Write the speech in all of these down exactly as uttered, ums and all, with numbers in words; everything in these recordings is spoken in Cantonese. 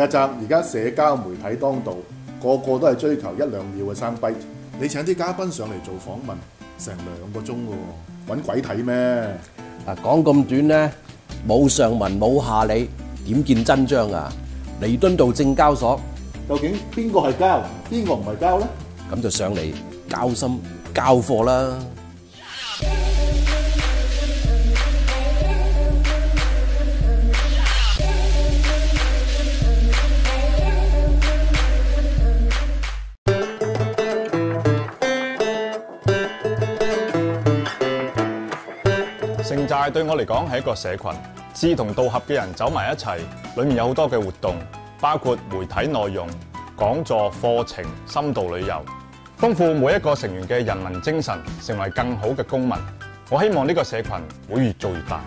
責而家社交媒體當道，個個都係追求一兩秒嘅 soundbite。你請啲嘉賓上嚟做訪問，成兩個鐘喎，揾鬼睇咩？ 嗱，講咁短咧，冇上文冇下理，點見真章啊？彌敦道證交所， 究竟邊個係交，邊個唔係交咧？ 咁就上嚟交心交貨啦！ 城寨對我嚟講係一個社群，志同道合嘅人走埋一齊，裡面有好多嘅活動，包括媒體內容、講座、課程、深度旅遊，豐富每一個成員嘅人民精神，成為更好嘅公民。我希望呢個社群會越做越大。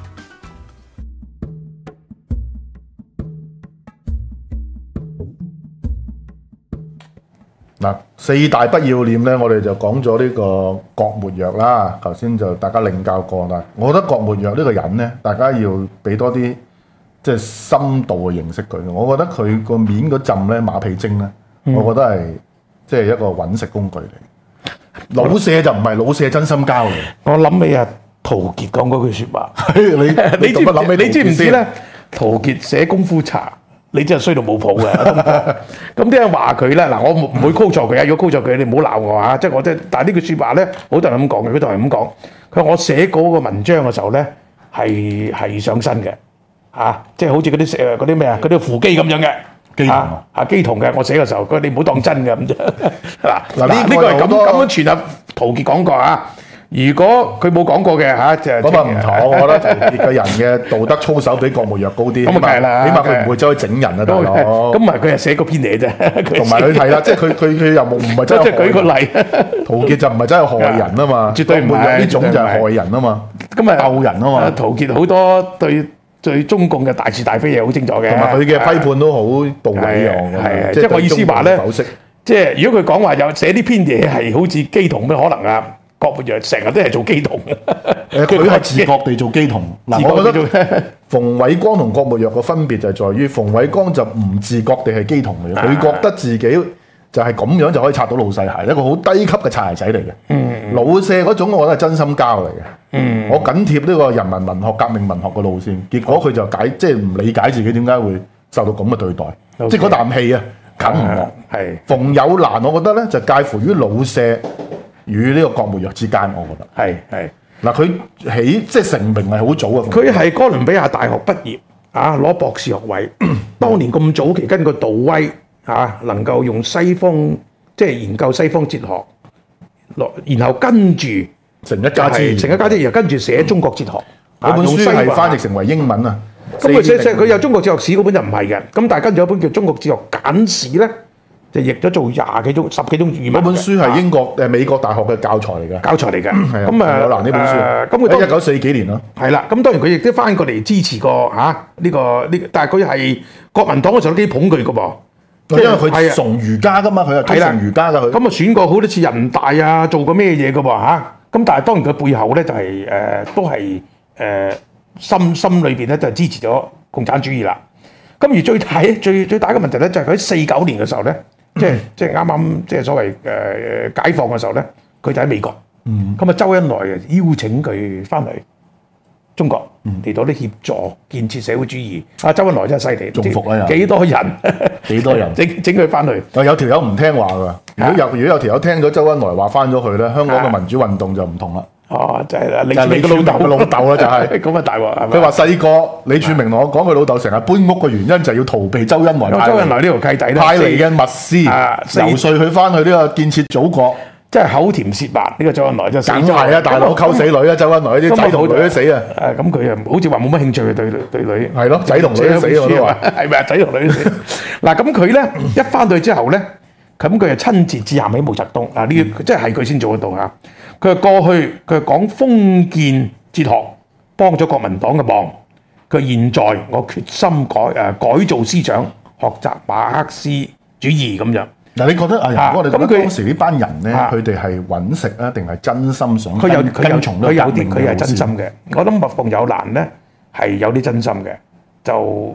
嗱，四大不要臉咧，我哋就講咗呢個郭沫若啦。頭先就大家領教過啦。我覺得郭沫若呢個人咧，大家要俾多啲即係深度嘅認識佢。我覺得佢個面嗰陣咧馬屁精咧，嗯、我覺得係即係一個揾食工具嚟。老舍就唔係老舍真心交嚟。 我諗起啊，陶傑講嗰句説話， 你你做乜諗起？ 你知唔知咧？陶傑寫功夫茶。你真係衰到冇譜嘅，咁啲人話佢咧，嗱我唔會 call 錯佢啊！如果 call 錯佢，你唔好鬧我啊！即係我即係，但係呢句説話咧，好多人咁講嘅，佢就係咁講。佢話我寫嗰個文章嘅時候咧，係係上身嘅，嚇，即係好似嗰啲誒嗰啲咩啊，嗰啲扶乩咁樣嘅，乩童啊，啊乩童嘅，我寫嘅時候，佢你唔好當真嘅咁啫。嗱嗱呢呢個係咁咁樣傳入陶傑講過啊。如果佢冇講過嘅嚇，就咁啊唔同。我覺得陶傑嘅人嘅道德操守比郭沫若高啲。咁啊梗係啦，起碼佢唔會走去整人啊，大佬。咁唔係佢係寫個篇嘢啫。同埋佢係啦，即係佢佢佢又冇唔係真係。即係舉個例，陶傑就唔係真係害人啊嘛。絕對唔係呢種就係害人啊嘛。咁啊鬥人啊嘛。陶傑好多對對中共嘅大是大非嘢好清楚嘅。同埋佢嘅批判都好到位啊！係啊，即係我意思話咧，即係如果佢講話有寫呢篇嘢係好似乩童咩可能啊？郭沫若成日都係做乩童嘅，誒佢係自覺地做乩童。嗱，我覺得馮煒光同郭沫若嘅分別就係在於，馮煒光就唔自覺地係乩童嚟嘅，佢覺得自己就係咁樣就可以擦到老細鞋，一個好低級嘅擦鞋仔嚟嘅。嗯，老舍嗰種我覺得係真心交嚟嘅。嗯，我緊貼呢個人民文學、革命文學嘅路線，結果佢就解即係唔理解自己點解會受到咁嘅對待，即係嗰啖氣啊，啃唔落。係馮友蘭，我覺得咧就介乎於老舍與呢個郭沫若之間，我覺得係係嗱，佢起即係成名係好早啊！佢係哥倫比亞大學畢業啊，攞博士學位。當年咁早期，根據杜威啊，能夠用西方即係研究西方哲學，落然後跟住成一家之言，成一家之言，又跟住寫中國哲學。嗰本書係翻譯成為英文啊！咁佢寫寫佢有中國哲學史嗰本就唔係嘅，咁但係跟住有本叫《中國哲學簡史》咧。就譯咗做廿幾種、十幾種語文。嗰本書係英國誒美國大學嘅教材嚟嘅，教材嚟嘅。咁啊，有難呢本書。咁佢一九四幾年咯。係啦，咁當然佢亦都翻過嚟支持過嚇呢個呢，但係佢係國民黨嗰時候都幾捧佢嘅噃。因為佢崇儒家噶嘛，佢係推崇儒家嘅佢。咁啊選過好多次人大啊，做過咩嘢嘅喎嚇。咁但係當然佢背後咧就係誒都係誒心心裏邊咧就係支持咗共產主義啦。咁而最大最最大嘅問題咧就係佢喺四九年嘅時候咧。即係即係啱啱即係所謂誒解放嘅時候咧，佢就喺美國。嗯，咁啊，周恩來邀請佢翻嚟中國嚟到啲協助建設社會主義。啊，周恩來真係犀利，中伏啊又幾多人？幾多人整整佢翻去？啊，有條友唔聽話㗎。如果有如果有條友聽咗周恩來話翻咗去咧，香港嘅民主運動就唔同啦。哦，就係啦，李柱銘嘅老豆嘅老豆啦，就係咁啊大鑊係咪？佢話細個李柱銘同我講，佢老豆成日搬屋嘅原因就係要逃避周恩來。周恩來呢條契弟咧，派嚟嘅密師遊說佢翻去呢個建設祖國，即係口甜舌滑。呢個周恩來真係梗係啊，大佬溝死女啊，周恩來啲仔同女都死啊。誒咁佢啊，好似話冇乜興趣對對女。係咯，仔同女都死我都話。係咪啊？仔同女都死。嗱咁佢咧一翻到去之後咧，咁佢就親自致函俾毛澤東。嗱呢個即係係佢先做得到嚇。佢話過去佢係講封建哲學，幫咗國民黨嘅忙。佢現在我決心改誒改造思想，學習馬克思主義咁樣。嗱，你覺得啊？我哋覺得當時呢班人咧，佢哋係揾食啊，定係真心想跟跟從呢個革命嘅路線？佢有啲佢係真心嘅。我諗馮友蘭咧係有啲真心嘅，就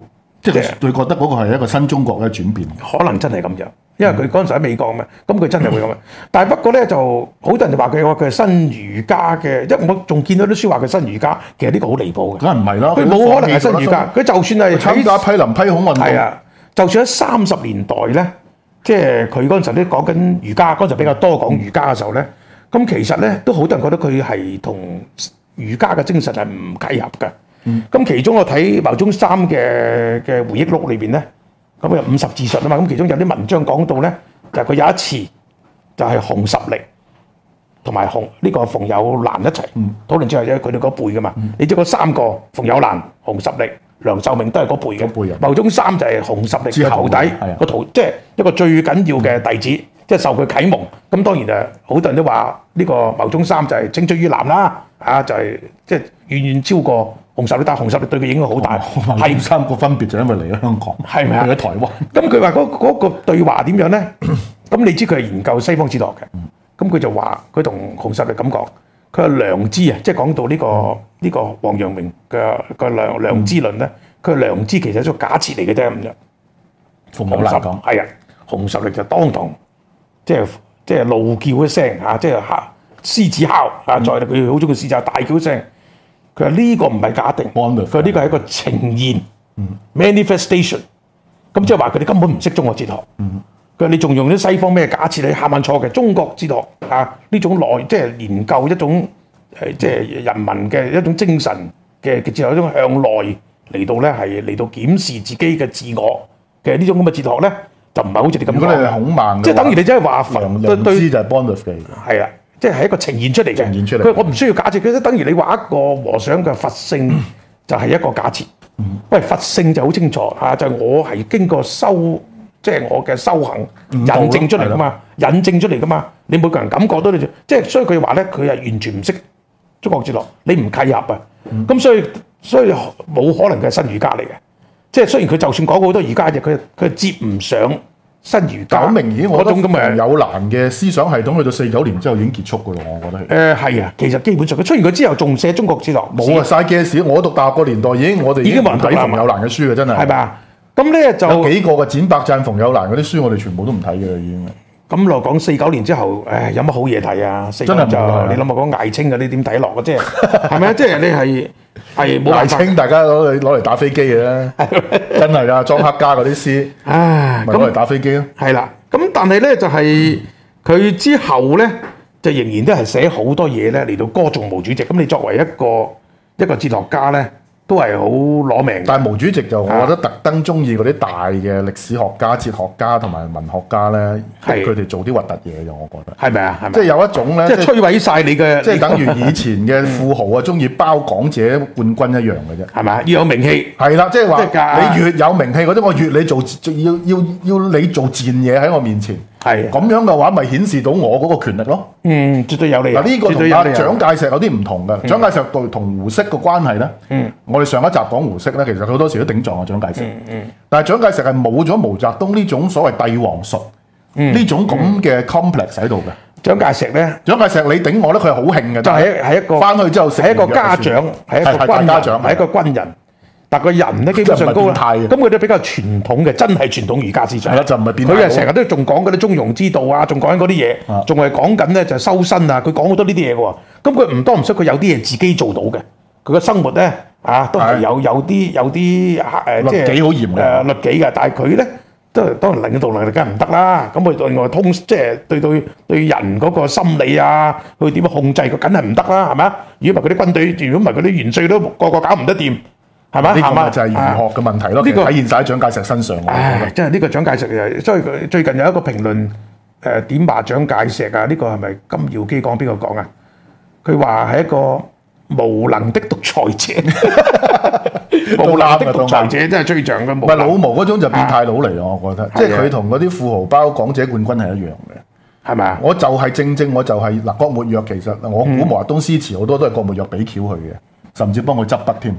即係佢覺得嗰個係一個新中國嘅轉變， 可能真係咁樣，因為佢嗰陣時喺美國嘛，咁佢真係會咁樣。但係不過咧，就好多人就話佢話佢係新儒家嘅，因為我仲見到啲書話佢新儒家，其實呢個好離譜嘅。 梗係唔係啦？ 佢冇可能係新儒家，佢就算係參加批林批孔運動， 係啊，就算喺三十年代咧，即係佢嗰陣時都講緊儒家，嗰陣時比較多講儒家嘅時候咧，咁、嗯、其實咧都好多人覺得佢係同儒家嘅精神係唔契合嘅。咁、嗯、其中我睇牟宗三嘅嘅回憶錄裏邊咧，咁有五十自述啊嘛，咁其中有啲文章講到咧，就係、是、佢有一次就係熊十力同埋熊呢個馮友蘭一齊、嗯、討論之後咧，佢哋嗰輩噶嘛，嗯、你知嗰三個馮友蘭、熊十力、梁漱溟都係嗰輩嘅。輩牟宗三就係熊十力嘅徒弟，個徒即係一個最緊要嘅弟子，嗯、即係受佢啟蒙。咁當然誒，好多人都話呢個牟宗三就係青出於藍啦，啊就係即係遠遠超過熊十力，但係熊十力對佢影響好大。係、哦、三個分別就因為嚟咗香港，係咪啊？去咗台灣。咁佢話嗰嗰個對話點樣咧？咁你知佢係研究西方哲學嘅，咁佢就話佢同熊十力咁講，佢話良知啊，即係講到呢、這個呢、這個王陽明嘅個良良知論咧，佢話良知其實係一個假設嚟嘅啫咁樣。 馮友蘭講係啊，熊十力就當堂即係即係怒叫一聲嚇，即係嚇獅子哮啊！再佢好中意獅子大叫一聲。佢話呢個唔係假定，佢話呢個係一個呈現、嗯、manifestation。咁即係話佢哋根本唔識中國哲學。佢話、嗯、你仲用啲西方咩假設？你下萬錯嘅中國哲學啊！呢種內即係研究一種誒即係人民嘅一種精神嘅嘅哲學，一種向內嚟到咧係嚟到檢視自己嘅自我嘅呢種咁嘅哲學咧，就唔係好似你咁講。如果你係孔孟，即係等於你真係話佛對對就係 Bondolf 嘅，係啦。即係一個呈現出嚟嘅，呈現出嚟。佢我唔需要假設，佢等於你話一個和尚嘅佛性就係一個假設。嗯、喂，佛性就好清楚嚇，就係、我係經過修，即、就、係、係、我嘅修行引證出嚟噶嘛，引證出嚟噶嘛。你每個人感覺到你，即係所以佢話咧，佢係完全唔識中國哲學，你唔契合啊。咁、嗯、所以所以冇可能佢係新儒家嚟嘅。即係雖然佢就算講好多儒家嘢，佢佢接唔上。新儒家好明顯，我覺得馮友蘭嘅思想系統去到四九年之後已經結束噶咯，我覺得係。誒係啊，其實基本上佢出現佢之後仲寫中國哲學。冇啊，晒嘅事。我讀大學個年代已經我哋已經冇人睇馮友蘭嘅書嘅，真係。係咪啊？咁咧就有幾個嘅展白贊馮友蘭嗰啲書，我哋全部都唔睇嘅啦，已經。咁落講四九年之後，誒有乜好嘢睇啊？真係就你諗下講艾青嗰啲點睇落嘅啫，係咪啊？即係你係係冇艾青，大家攞嚟攞嚟打飛機嘅啦，真係啊！莊克家嗰啲詩，唉，咪攞嚟打飛機咯。係啦，咁但係咧就係佢之後咧，就仍然都係寫好多嘢咧嚟到歌頌毛主席。咁你作為一個一個哲學家咧，都係好攞命。但係毛主席就我覺得特登中意嗰啲大嘅歷史學家、哲學家同埋文學家咧，係佢哋做啲核突嘢嘅，我覺得。係咪啊？係咪？即係有一種咧，即係摧毀晒你嘅，即係等於以前嘅富豪啊，中意包港姐冠軍一樣嘅啫。係咪？要有名氣。係啦，即係話你越有名氣嗰啲，我越你做要要要你做賤嘢喺我面前。係咁樣嘅話，咪顯示到我嗰個權力咯。嗯，絕對有利。嗱，呢個同阿蔣介石有啲唔同嘅。蔣介石對同胡適個關係咧，嗯，我哋上一集講胡適咧，其實好多時都頂撞阿蔣介石。嗯嗯。但係蔣介石係冇咗毛澤東呢種所謂帝王術，呢種咁嘅 complex 喺度嘅。蔣介石咧，蔣介石你頂我咧，佢係好興嘅。就係係一個翻去之後，係一個家長，係一個軍家長，係一個軍人。但個人咧基本上高啦，咁佢都比較傳統嘅，真係傳統儒家思想。係啦，就唔係變態。佢係成日都仲講嗰啲中庸之道啊，仲講緊嗰啲嘢，仲係講緊咧就修身啊。佢講好多呢啲嘢嘅喎。咁佢唔多唔少，佢有啲嘢自己做到嘅。佢嘅生活咧啊，都係有有啲有啲誒，即係律己好嚴嘅誒律己嘅。但係佢咧都係當然領導能力梗係唔得啦。咁佢另外通即係對對對人嗰個心理啊，佢點樣控制佢梗係唔得啦，係咪啊？如果唔係嗰啲軍隊，如果唔係嗰啲元帥都個個搞唔得掂。係嘛？呢個就係儒學嘅問題咯。呢個體現晒喺蔣介石身上。唉，真係呢個蔣介石，所以佢最近有一個評論誒點罵蔣介石啊？呢個係咪金耀基講邊個講啊？佢話係一個無能的獨裁者，無能的獨裁者真係最像嘅。唔係老毛嗰種就變態佬嚟咯，我覺得。即係佢同嗰啲富豪包港姐冠軍係一樣嘅，係咪啊？我就係正正我就係嗱，郭沫若其實我估毛澤東詩詞好多都係郭沫若俾橋佢嘅，甚至幫佢執筆添。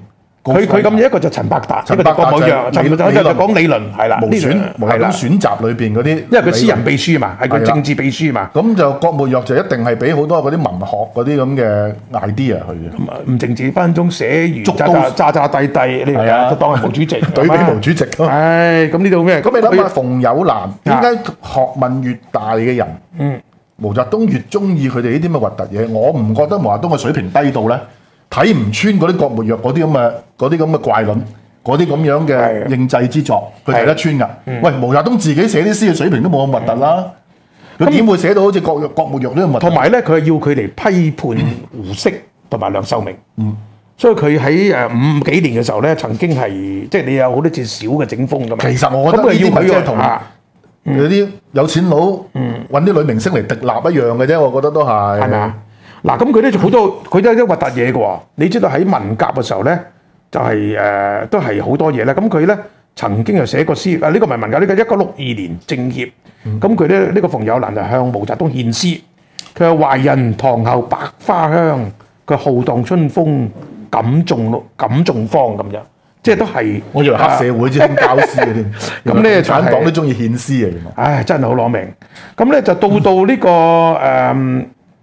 佢佢咁一個就陳伯達，一個就郭沫若，陳伯達就講理論係啦， 無選毛澤東選集裏邊嗰啲， 因為佢私人秘書嘛，係佢政治秘書嘛。 咁就郭沫若就一定係俾好多嗰啲文學嗰啲咁嘅 idea 去嘅。 唔淨止分鐘寫完渣渣地地，你係啊，當係毛主席， 對比毛主席。 唉，咁呢度咩？ 咁你諗下，馮友蘭點解學問越大嘅人，嗯，毛澤東越中意佢哋呢啲咁嘅核突嘢？我唔覺得毛澤東嘅水平低到咧，睇唔穿嗰啲郭沫若嗰啲咁嘅嗰啲咁嘅怪論，嗰啲咁樣嘅應制之作，佢睇得穿㗎。喂，毛澤東自己寫啲詩嘅水平都冇咁核突啦，佢點會寫到好似郭郭沫若呢咁核突？ 同埋咧，佢係要佢嚟批判胡適同埋梁漱溟。嗯。所以佢喺誒五幾年嘅時候咧，曾經係即係你有好多次小嘅整風㗎嘛。其實我覺得呢啲咪即係同有啲有錢佬揾啲女明星嚟滴立一樣嘅啫，我覺得都係。係咪啊？ 嗱，咁佢咧就好多，佢都係啲核突嘢嘅喎。你知道喺文革嘅時候咧，就係、是、誒、呃、都係好多嘢咧。咁佢咧曾經又寫過詩，啊呢、這個唔係文革，呢、這個一九六二年政協。咁佢咧呢、這個馮友蘭就向毛澤東獻詩，佢話懷人堂後百花香，佢浩蕩春風。感種感種芳咁樣，即係都係。我以為黑社會先教詩嘅添。咁咧，產黨都中意獻詩啊！原來。唉，真係好攞命。咁咧就到到呢、這個誒呢、嗯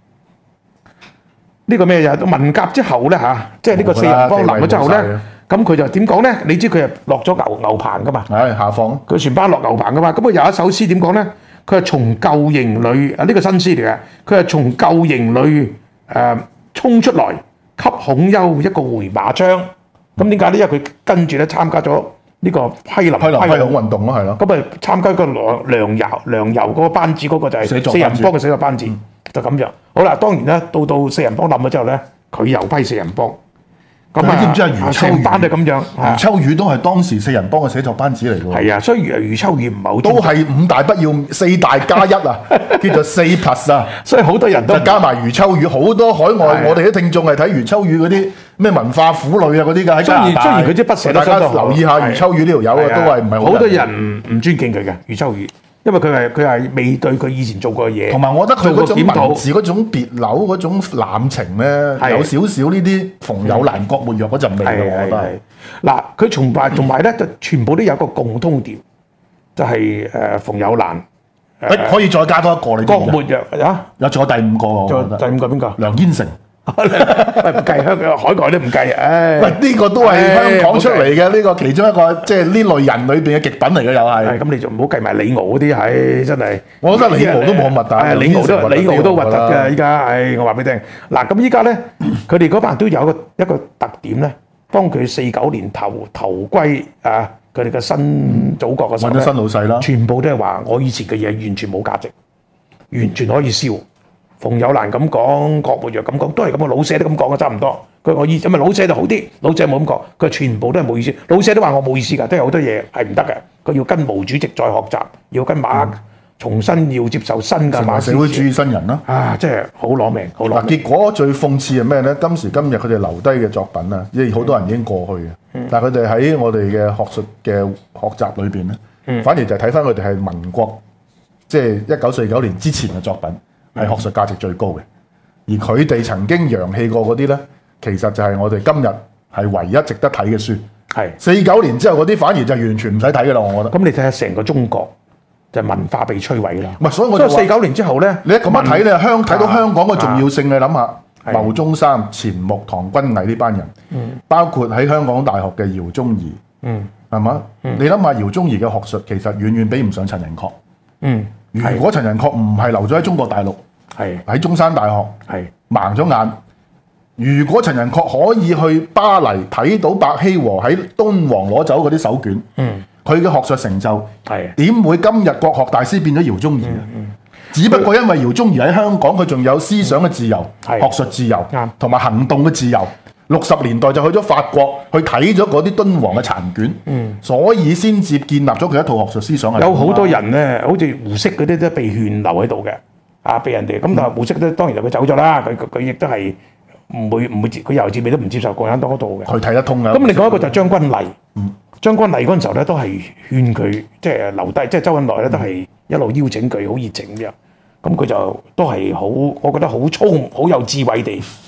這個咩嘢？文革之後咧嚇，即係呢個四人幫冧咗之後咧，咁佢就點講咧？你知佢係落咗牛牛棚噶嘛？係下放。佢全班落牛棚噶嘛？咁佢有一首詩點講咧？佢係從舊營裏啊，呢、這個新詩嚟嘅。佢係從舊營裏誒衝出來。給孔丘一個回馬槍，咁點解咧？因為佢跟住咧參加咗呢個批林批林批孔運動咯，係咯。咁啊參加個梁梁游梁游嗰個班子，嗰個就係四人幫嘅寫作班子，就咁樣。好啦，當然咧，到到四人幫冧咗之後咧，佢又批四人幫。咁你知唔知啊？余秋雨班就咁樣，余秋雨都係當時四人幫嘅寫作班子嚟㗎。係啊，所以余余秋雨唔係好都係五大不要四大加一啊，叫做四 plus 啊。所以好多人都加埋余秋雨，好多海外我哋啲聽眾係睇余秋雨嗰啲咩文化婦女啊嗰啲㗎喺加拿大。雖然佢啲不捨得，大家留意下余秋雨呢條友啊，都係唔係好好多人唔尊敬佢嘅余秋雨。因為佢係佢係未對佢以前做過嘢，同埋我覺得佢嗰種文字嗰種別扭嗰種濫情咧，有少少呢啲馮友蘭、郭沫若嗰陣味嘅，我覺得係。嗱，佢崇拜同埋咧，就全部都有一個共通點，就係誒馮友蘭。誒可以再加多一個你。郭沫若啊，有仲有第五個喎。仲有第五個邊個？梁燕成。唔計香港海外都唔計，唉！喂，呢個都係香港出嚟嘅，呢個其中一個即係呢類人裏邊嘅極品嚟嘅，又係。咁你就唔好計埋李敖嗰啲，唉，真係。我覺得李敖都冇咁核突。李敖都李敖都核突嘅，依家，唉，我話俾你聽。嗱，咁依家咧，佢哋嗰班都有一個一個特點咧，當佢四九年投投歸啊，佢哋嘅新祖國嘅時候咧，揾咗新老細啦，全部都係話我以前嘅嘢完全冇價值，完全可以燒。馮友蘭咁講，郭沫若咁講，都係咁嘅。老舍都咁講嘅，差唔多。佢我意，咁啊老舍就好啲，老舍冇咁講，佢全部都係冇意思。老舍都話我冇意思㗎，都有好多嘢係唔得嘅。佢要跟毛主席再學習，要跟馬、嗯、重新要接受新嘅馬社會主義新人啦。啊，真係好攞命，好攞命。結果最諷刺係咩咧？今時今日佢哋留低嘅作品啊，因為好多人已經過去嘅，嗯、但係佢哋喺我哋嘅學術嘅學習裏邊咧，嗯、反而就睇翻佢哋係民國，即係一九四九年之前嘅作品。係學術價值最高嘅，而佢哋曾經揚棄過嗰啲咧，其實就係我哋今日係唯一值得睇嘅書。係四九年之後嗰啲，反而就完全唔使睇嘅啦。我覺得。咁你睇下成個中國就係、文化被摧毀啦。唔係，所以我就話四九年之後咧，你一咁樣睇咧，香睇到香港嘅重要性，啊、你諗下，牟宗三、錢穆、唐君毅呢班人，嗯、包括喺香港大學嘅饒宗頤，嗯，係嘛？嗯、你諗下饒宗頤嘅學術其實遠遠比唔上陳寅恪。嗯，如果陳寅恪唔係留咗喺中國大陸。係喺中山大學，係盲咗眼。如果陳寅恪可以去巴黎睇到白希和喺敦煌攞走嗰啲手卷，嗯，佢嘅學術成就係點會今日國學大師變咗饒宗頤啊？嗯嗯、只不過因為饒宗頤喺香港，佢仲有思想嘅自由、嗯、學術自由，同埋、嗯、行動嘅自由。六十年代就去咗法國去睇咗嗰啲敦煌嘅殘卷，嗯、所以先至建立咗佢一套學術思想。有好多人咧，好似胡適嗰啲都被勸留喺度嘅。啊！俾人哋咁，但係胡適咧，當然就佢走咗啦。佢佢亦都係唔會唔會接，佢由至尾都唔接受共產黨嗰度嘅。佢睇得通啊！咁另外一個就將軍麗，嗯、將軍麗嗰陣時候咧，都係勸佢即係留低，即係周恩來咧都係一路邀請佢，好熱情咁樣。咁佢就都係好，我覺得好粗、好有智慧地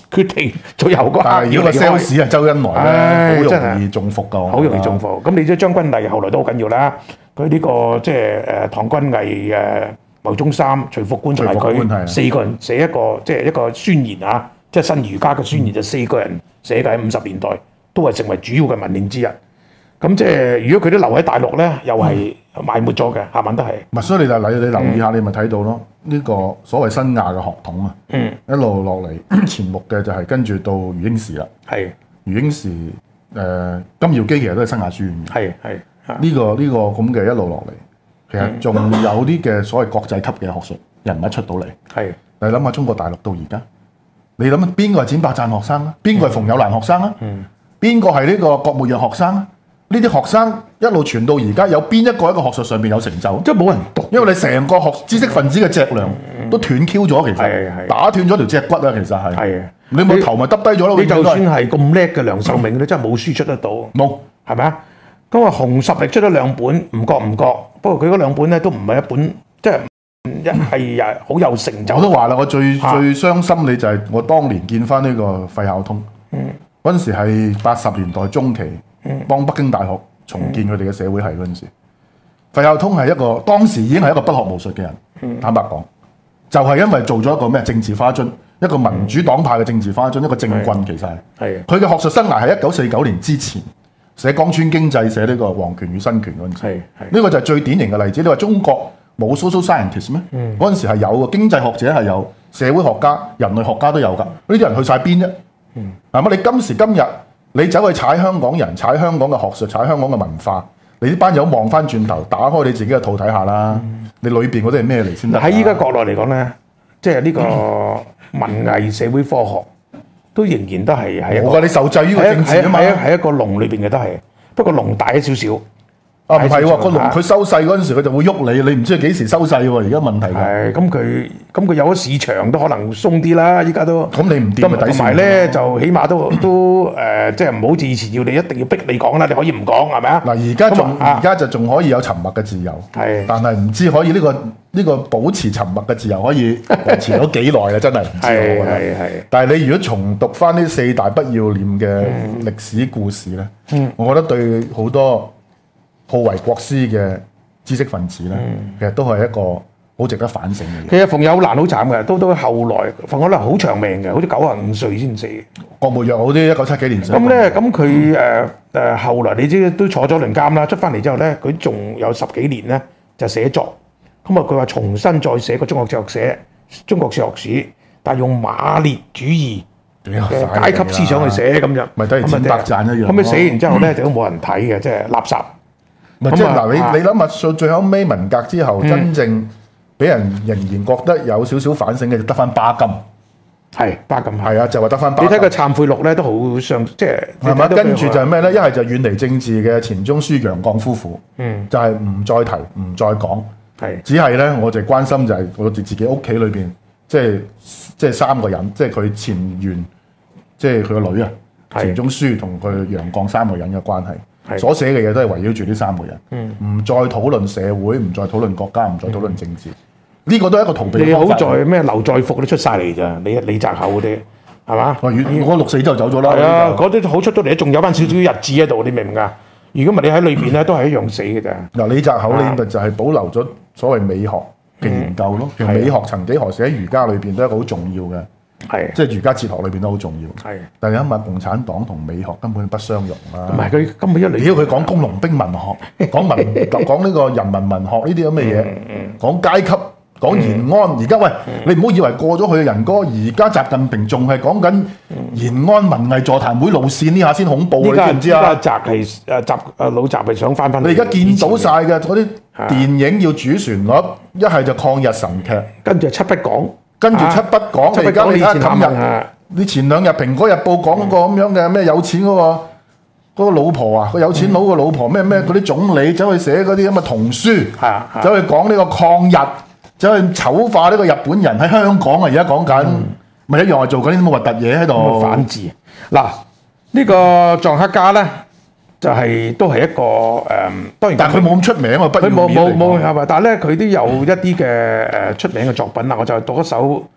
決定最後嗰刻要離開。 如果個 sales 係周恩來咧，好真容易中伏㗎， 好容易中伏。咁你知張君毅後來都好緊要啦。佢呢個即係誒唐君毅誒牟宗三、徐復觀同埋佢四個人寫一個即係一個宣言啊，即係新儒家嘅宣言，就四個人寫嘅喺五十年代，都係成為主要嘅文獻之一。咁即係如果佢都留喺大陸咧，又係埋沒咗嘅，下文都係。 唔係，所以你就你你留意下，你咪睇到咯。呢個所謂新亞嘅學統啊， 嗯， 一路落嚟前目嘅就係跟住到余英時啦。 係余英時誒金耀基其實都係新亞書院嘅。 係係呢個呢個咁嘅一路落嚟，其實仲有啲嘅所謂國際級嘅學術人物出到嚟。係你諗下中國大陸到而家，你諗下邊個係展伯贊學生啊？邊個係馮友蘭學生啊？嗯，邊個係呢個郭沫若學生啊？呢啲學生一路傳到而家，有邊一個喺個學術上邊有成就？ 即係冇人讀， 因為你成個學知識分子嘅脊梁都斷 Q 咗，其實打斷咗條脊骨啊，其實係。係你冇頭咪耷低咗咯。 你就算係咁叻嘅梁漱溟，你真係冇書出得到。冇，係咪啊？咁啊，熊十力出咗兩本，唔覺唔覺。不過佢嗰兩本咧都唔係一本，即係一係啊好有成就。我都話啦， 我最最傷心你就係我當年見翻呢個費孝通。嗯，嗰陣時係八十年代中期。幫北京大學重建佢哋嘅社會系嗰陣時，費孝通係一個當時已經係一個不學無術嘅人。嗯、坦白講，就係、是、因為做咗一個咩政治花樽，一個民主黨派嘅政治花樽，一個政棍其實係。係。佢嘅學術生涯係一九四九年之前寫江村經濟，寫呢個皇權與新權嗰陣時。係。呢個就係最典型嘅例子。你話中國冇 social scientist 咩？嗰陣、嗯、時係有嘅，經濟學者係有，社會學家、人類學家都有㗎。呢啲人去晒邊啫？嗯。係嘛？你今時今日。你走去踩香港人，踩香港嘅學術，踩香港嘅文化，你呢班友望翻轉頭，打開你自己嘅肚睇下啦。嗯、你裏邊嗰啲係咩嚟先得？喺依家國內嚟講咧，即係呢個文藝社會科學都仍然都係喺一個。我話你受制於個政治啊嘛。喺一個籠裏邊嘅都係，不過籠大咗少少。啊，唔係喎，個籠佢收細嗰陣時，佢就會喐你，你唔知佢幾時收細喎。而家問題係，咁佢咁佢有咗市場都可能鬆啲啦。依家都咁你唔掂咪抵同埋咧，就起碼都都誒、呃，即係唔好似以前要你一定要逼你講啦，你可以唔講係咪啊？嗱，而家仲而家就仲可以有沉默嘅自由，係，但係唔知可以呢、呢個呢、呢個保持沉默嘅自由可以維持咗幾耐啊？真係唔知我覺得。係係。但係你如果重讀翻呢四大不要臉嘅歷史故事咧，嗯、我覺得對好多好為國師嘅知識分子咧，嗯、其實都係一個好值得反省嘅嘢。其實馮友蘭好慘嘅，都都後來馮友蘭好長命嘅，好似九十五歲先死。郭沫若好啲，一九七幾年死。咁咧，咁佢誒誒後來你知都坐咗輪監啦，出翻嚟之後咧，佢仲有十幾年咧就寫作。咁啊，佢話重新再寫個中國哲學寫中國哲學史，但係用馬列主義嘅階級思想去寫咁樣，咪等於展伯贊一樣。咁佢寫完之後咧，就都冇人睇嘅，即係垃圾。咪即係嗱，你你諗下，最後尾文革之後，嗯、真正俾人仍然覺得有少少反省嘅，就得翻巴金。係巴金，係啊，就話得翻巴金。你睇佢懺悔錄咧，都好上，即係係嘛？跟住就係咩咧？一係就遠離政治嘅錢鍾書、楊絳夫婦，嗯，就係唔再提、唔再講，係是只係咧，我就關心就係我哋自己屋企裏邊，即係即係三個人，即係佢前元，即係佢個女啊，錢鍾書同佢楊絳三個人嘅關係。所寫嘅嘢都係圍繞住呢三個人，唔、嗯、再討論社會，唔再討論國家，唔再討論政治，呢、嗯、個都係一個逃避嘅方法。你好在咩？劉在福都出晒嚟咋？李李澤厚嗰啲係嘛？我我六四之後走咗啦。係啊，嗰啲好出到嚟，仲有翻少少日誌喺度，你明唔明啊？如果唔係你喺裏邊咧，都係一樣死嘅咋。嗱，李澤厚呢，咪就係保留咗所謂美學嘅研究咯。其實、嗯、美學曾幾何時喺儒家裏邊都係一個好重要嘅。係，即係儒家哲學裏邊都好重要。係，但係因為共產黨同美學根本不相容啦。唔係佢根本一嚟，只要佢講工農兵文學，講文講呢個人民文學呢啲咁嘅嘢，講階級，講延安。而家喂，你唔好以為過咗去嘅仁哥，而家習近平仲係講緊延安文藝座談會路線呢下先恐怖，你知唔知啊？習係誒習誒老習係想翻翻。你而家見到晒嘅嗰啲電影要主旋律，一係就抗日神劇，跟住七不講。跟住七不講，你而家你睇下今日，你前兩日《蘋果日報》講嗰個咁樣嘅咩有錢嗰個嗰個老婆啊，個有錢佬個老婆咩咩嗰啲總理走去寫嗰啲咁嘅童書，走去講呢個抗日，走去醜化呢個日本人喺香港啊！而家講緊，咪一樣係做緊啲咁嘅核突嘢喺度。反智嗱，呢個藏克家咧。就係都係一個誒，當然，但係佢冇咁出名啊，不佢冇冇冇係嘛？但係咧，佢都有一啲嘅誒出名嘅作品啦。我就讀一首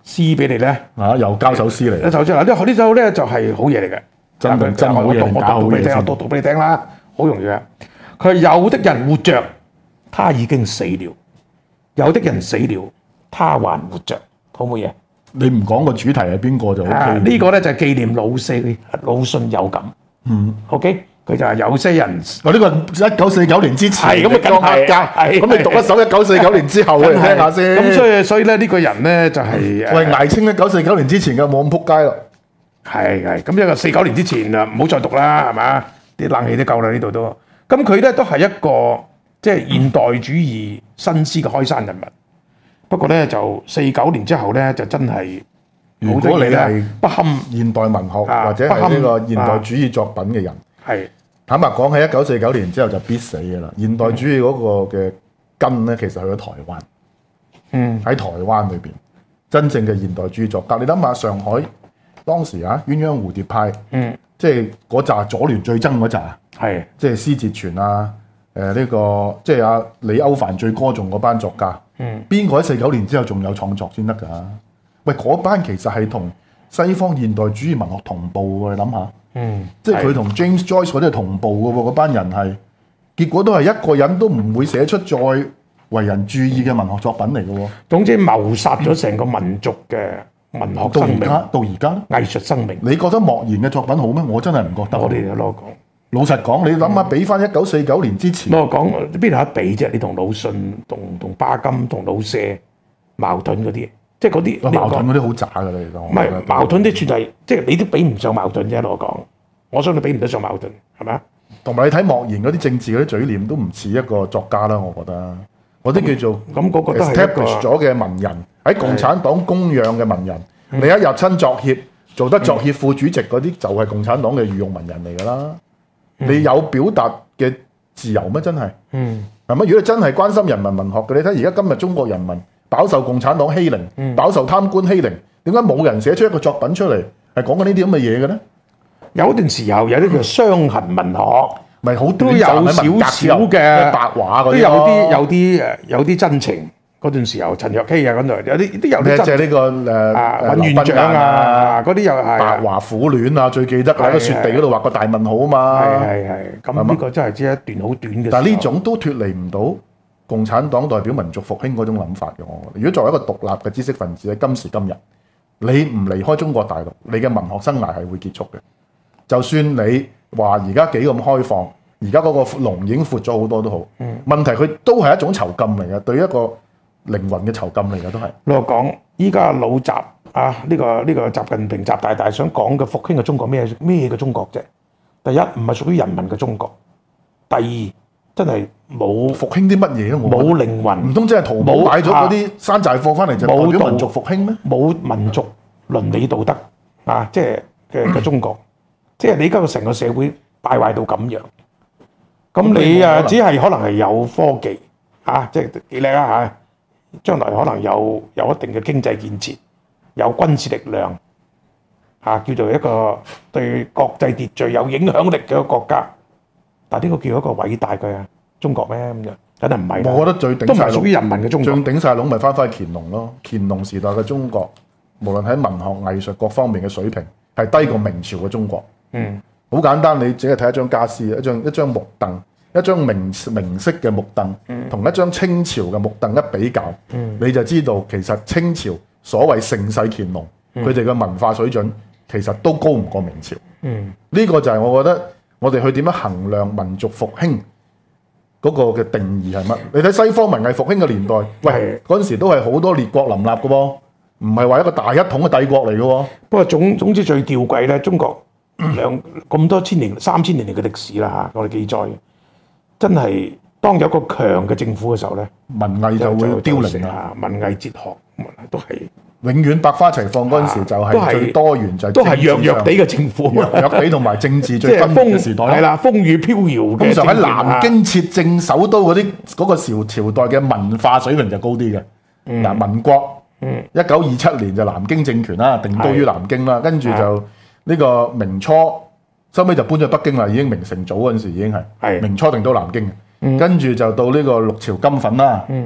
詩俾你咧， 啊，又交首詩嚟。 一首詩嗱，呢呢首咧就係好嘢嚟嘅， 真定真好嘢定假好嘢先？ 我讀讀俾你聽啦，好容易嘅。佢有的人活着，他已經死了；有的人死了，他還活着，好冇嘢？ 你唔講個主題係邊個就 O K。 呢個咧就係紀念老四魯迅有感。嗯 ，OK。佢就係有些人， 我呢個一九四九年之前， 係咁啊，梗係， 咁你讀一首一九四九年之後嚟聽下先。 咁所以所以咧呢個人咧就係喂艾青一九四九年之前嘅冇咁撲街咯。 係係，咁一個四九年之前啊，唔好再讀啦，係嘛？啲冷氣都夠啦呢度都。咁佢咧都係一個即係現代主義新詩嘅開山人物。不過咧就四九年之後咧就真係， 如果你係不堪現代文學或者係呢個現代主義作品嘅人，係。坦白講，喺一九四九年之後就必死嘅啦。現代主義嗰個嘅根咧，其實去咗台灣。嗯，喺台灣裏邊，真正嘅現代主義作家，你諗下上海當時啊，鴛鴦蝴蝶派，嗯，即係嗰紮左聯最憎嗰紮，係即係施哲全啊，誒、呃、呢、這個即係阿李歐梵最歌頌嗰班作家。嗯，邊個喺四九年之後仲有創作先得㗎？喂，嗰班其實係同西方現代主義文學同步喎，你諗下。嗯，即係佢同 James Joyce 嗰啲係同步嘅喎，嗰班人係，結果都係一個人都唔會寫出再為人注意嘅文學作品嚟嘅喎。總之謀殺咗成個民族嘅文學生命，到而家藝術生命。你覺得莫言嘅作品好咩？我真係唔覺得。我哋攞講，老實講，你諗下，比翻一九四九年之前，攞講邊度有得比啫？你同魯迅、同同巴金、同老舍矛盾嗰啲，即係嗰啲矛盾嗰啲好渣㗎啦，其實。唔係矛盾啲算係，即係你都比唔上矛盾啫。攞講。我相信比唔得上矛盾，係咪啊？同埋你睇莫言嗰啲政治嗰啲嘴臉，都唔似一個作家啦。我覺得嗰啲叫做咁嗰個 establish 咗嘅文人，喺共產黨供養嘅文人。你一入親作協，做得作協副主席嗰啲，就係共產黨嘅御用文人嚟㗎啦。你有表達嘅自由咩？真係，係咪？如果你真係關心人民文學嘅，你睇而家今日中國人民飽受共產黨欺凌，飽受貪官欺凌，點解冇人寫出一個作品出嚟係講緊呢啲咁嘅嘢嘅咧？有段時候有啲叫傷痕文學，咪好都有少少嘅白話嗰啲，都有啲有啲誒有啲真情。嗰段時候陳若曦啊嗰度有啲都有啲真。即係呢個誒尹元長啊嗰啲又係白華苦戀啊，最記得喺個雪地嗰度畫個大問號啊嘛。係係係。咁呢個真係只係一段好短嘅。但係呢種都脫離唔到共產黨代表民族復興嗰種諗法嘅。我如果作為一個獨立嘅知識分子喺今時今日，你唔離開中國大陸，你嘅文學生涯係會結束嘅。就算你話而家幾咁開放，而家嗰個籠已經闊咗好多都好，嗯、問題佢都係一種囚禁嚟嘅，對一個靈魂嘅囚禁嚟嘅都係。我講依家老習啊，呢、這個呢、這個習近平習大大想講嘅復興嘅中國咩咩嘅中國啫？第一唔係屬於人民嘅中國，第二真係冇復興啲乜嘢都冇，冇靈魂，唔通真係淘寶買咗嗰啲山寨貨翻嚟就代表民族復興咩？冇民族倫理道德啊，即係嘅嘅中國。即係你而家個成個社會敗壞到咁樣，咁你啊只係可能係有科技嚇，即係幾叻啦嚇，將來可能有有一定嘅經濟建設，有軍事力量嚇，叫做一個對國際秩序有影響力嘅一個國家。但係呢個叫一個偉大嘅中國咩咁樣？梗係唔係？我覺得最頂都唔係屬於人民嘅中國。最頂曬籠咪翻返去乾隆咯，乾隆時代嘅中國，無論喺文學藝術各方面嘅水平係低過明朝嘅中國。嗯，好簡單，你只係睇一張家私，一張一張木凳，一張明明式嘅木凳，同、嗯、一張清朝嘅木凳一比較，嗯、你就知道其實清朝所謂盛世乾隆，佢哋嘅文化水準其實都高唔過明朝。嗯，呢個就係我覺得我哋去點樣衡量民族復興嗰個嘅定義係乜？你睇西方文藝復興嘅年代，喂，嗰陣時都係好多列國林立嘅喎，唔係話一個大一統嘅帝國嚟嘅喎。不過總總之最吊詭咧，中國。兩咁多千年、三千年嚟嘅歷史啦嚇，我哋記載，真係當有一個強嘅政府嘅時候咧，文藝就會凋零啦。文藝哲學都係永遠百花齊放嗰陣時，就係最多元，就係都係弱弱地嘅政府，弱弱地同埋政治最分裂嘅時代。係啦，風雨飄搖嘅。通常喺南京設政首都嗰啲嗰個朝朝代嘅文化水平就高啲嘅。嗱，民國一九二七年就南京政權啦，定都於南京啦，跟住就。呢個明初收尾就搬咗北京啦，已經明成祖嗰陣時已經係明初定都南京，嗯、跟住就到呢個六朝金粉啦，嗯、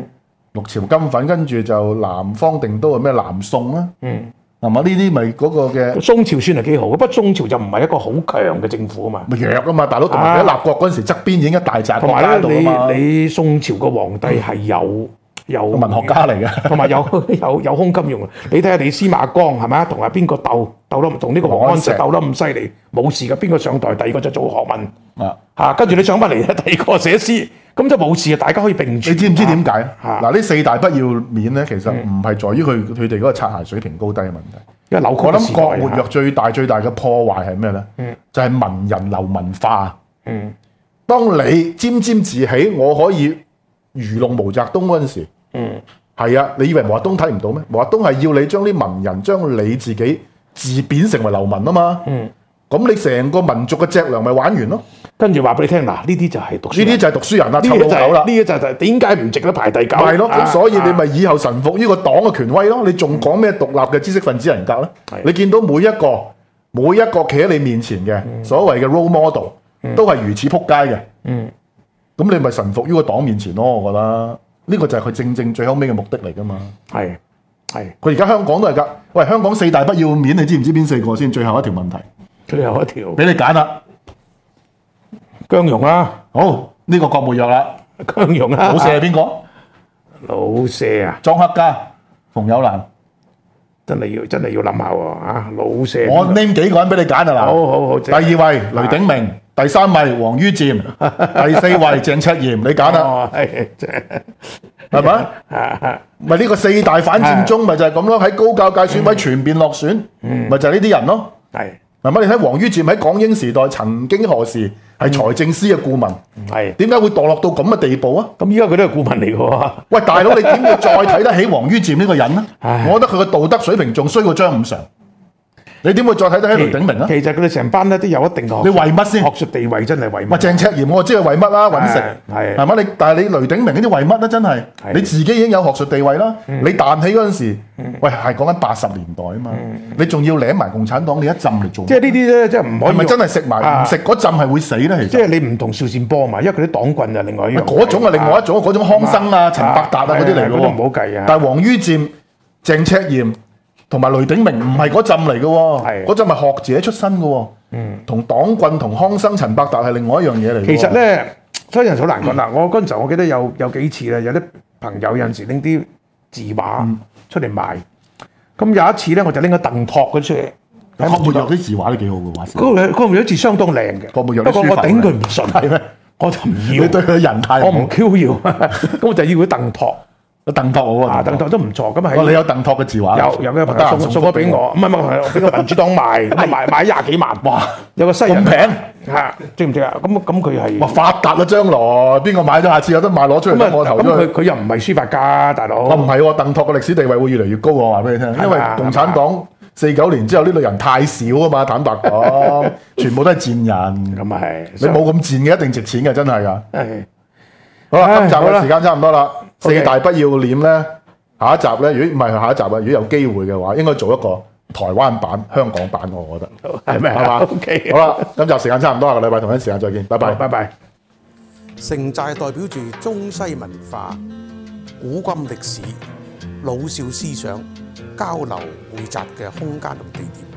六朝金粉，跟住就南方定都係咩南宋啦， 嗯， 係嘛？呢啲咪嗰個嘅宋朝算係幾好，不過宋朝就唔係一個好強嘅政府啊嘛， 咪弱啊嘛，大佬同埋喺立國嗰陣時側邊已經一大紮同國家喺度啊埋嘛， 咧，你你宋朝個皇帝係有。有文學家嚟嘅， 同埋有有有胸襟用。你睇下你司馬光係咪？同阿邊個鬥鬥得同呢個王安石鬥得咁犀利，冇事嘅。邊個上台，第二個就做學問啊嚇，跟住你上翻嚟，第二個寫詩，咁就冇事嘅。大家可以並存。 你知唔知點解？ 啊嗱，呢四大不要面咧，其實唔係在於佢佢哋嗰個擦鞋水平高低嘅問題。 因為扭曲我諗嘅時代郭沫若最大最大嘅破壞係咩咧？ 嗯就係文人流文化。 嗯， 當你沾沾自喜，我可以愚弄毛澤東嗰陣時， 嗯。 係啊，你以為毛澤東睇唔到咩？毛澤東係要你將啲文人將你自己自貶成為流民啊嘛。 嗯， 咁你成個民族嘅脊梁咪玩完咯。 跟住話俾你聽，嗱呢啲就係讀書人， 呢啲就係讀書人啦， 呢啲就係臭老狗啦。 呢啲就係點解唔值得排第九？ 係咯，咁啊所以你咪啊以後臣服於個黨嘅權威咯。你仲講咩獨立嘅知識分子人格咧？ 係你見到每一個每一個企喺你面前嘅所謂嘅 role model，都係如此撲街嘅。 嗯， 咁你咪臣服於個黨面前咯。我覺得呢個就係佢正正最後尾嘅目的嚟噶嘛。 係係佢而家香港都係㗎。喂，香港四大不要面，你知唔知邊四個先？最後一條問題， 最後一條俾你揀啦。 姜蓉啦， 好，呢、個郭沫若啦。 姜蓉啦， 老舍係邊個？ 老舍啊， 莊克家、馮友蘭。 真係要真係要諗下喎啊！老舍， 我 name 幾個人俾你揀啊嗱。 好好好， 第二位雷鼎明，第三位王于漸，第四位鄭赤琰，你揀啦， 哦係係咪？咪呢個四大反佔中咪就係咁咯，喺高教界選委全面落選，咪就係呢啲人咯。 係係咪？你睇王于漸喺港英時代曾經何時係財政司嘅顧問， 係。 點解會墮落到咁嘅地步啊？ 咁依家佢都係顧問嚟嘅喎。 喂，大佬，你點會再睇得起王于漸呢個人呢？ 唉我覺得佢嘅道德水平仲衰過張五常。你點會再睇得起雷鼎明啊？ 其實佢哋成班咧都有一定嘅學術， 你為乜先學術地位真係為喂， 乜？ 鄭赤琰我知係為乜啦，揾食係係嘛？你但係你雷鼎明呢啲為乜咧？真係係你自己已經有學術地位啦。你彈起嗰陣時，喂係講緊八十年代啊嘛，你仲要舐埋共產黨，你一浸嚟做， 即係呢啲咧，即係唔可以係咪真係食埋啊唔食嗰浸係會死咧？其實即係你唔同邵善波嘛，因為佢啲黨棍就另外一樣。 嗰種係另外一種，嗰種康生啊、陳伯達啊嗰啲嚟嘅嗰啲唔好計啊。 但係王于漸、鄭赤琰同埋雷鼎明唔係嗰浸嚟嘅喎， 係嗰浸係學者出身嘅喎，同黨棍同康生、陳伯達係另外一樣嘢嚟嘅喎。 其實咧，所以人好難講啦。我嗰陣時候我記得有有幾次咧，有啲朋友有陣時拎啲字畫出嚟賣。咁有一次咧，我就拎咗鄧拓嗰出嚟。 郭沫若啲字畫都幾好嘅話， 嗰個嗰個有字相當靚嘅。 郭沫若不過我啲書法頂佢唔順， 係咩？ 我就唔要。 你對佢人太我唔 Q 要，咁我就要佢鄧拓。 鄧拓好啊， 啊， 鄧拓都唔錯。咁哦， 係你有鄧拓嘅字畫？ 有有嘅朋得閒友送送咗俾我，唔係唔係，俾個民主黨賣，咁啊賣賣廿幾萬。 哇！ 有個西人咁平嚇，知唔知啊？咁咁佢係哇！發達啦，將來邊個買咗，下次有得賣攞出嚟咁啊俾我投咁咗去。 佢佢又唔係書法家，大佬。 我唔係喎，鄧拓嘅歷史地位會越嚟越高，我話俾你聽，因為共產黨四九年之後呢類人太少啊嘛，坦白講，全部都係賤人。 咁啊係， 你冇咁賤嘅，一定值錢嘅，真係㗎。 係好啦， 唉今集好啦嘅時間差唔多啦， OK 四大不要臉咧，下一集咧，如果唔係下一集啊，如果有機會嘅話，應該做一個台灣版、香港版，我覺得係咪係嘛 ？OK， 好啦，今集時間差唔多，下個禮拜同一時間再見，拜拜。 拜拜。 城寨代表住中西文化、古今歷史、老少思想交流匯集嘅空間同地點。